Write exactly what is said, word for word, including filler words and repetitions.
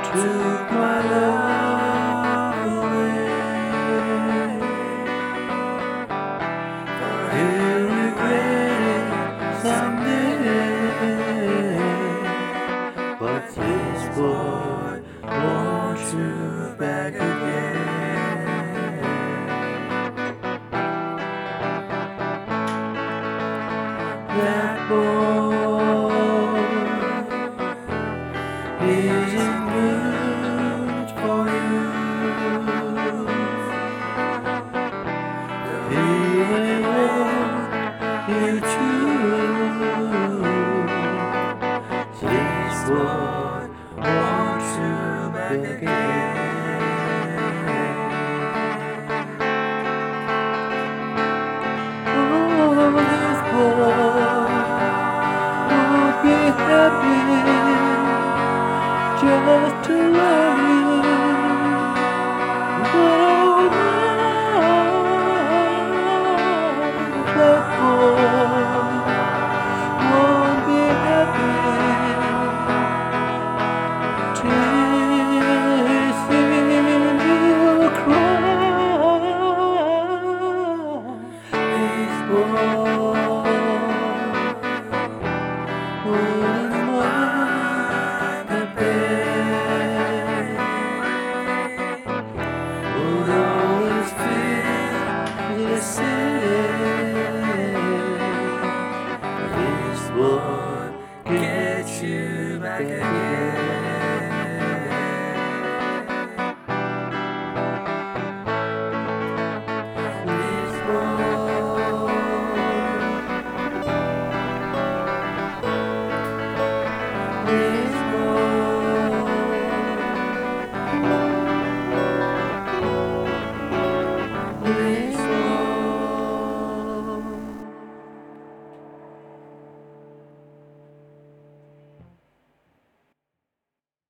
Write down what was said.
took my love away. He'll regret it someday, but this boy wants you back again. That boy isn't good for you. He will want you too. This boy wants you back again. Oh, this boy won't be happy just to love.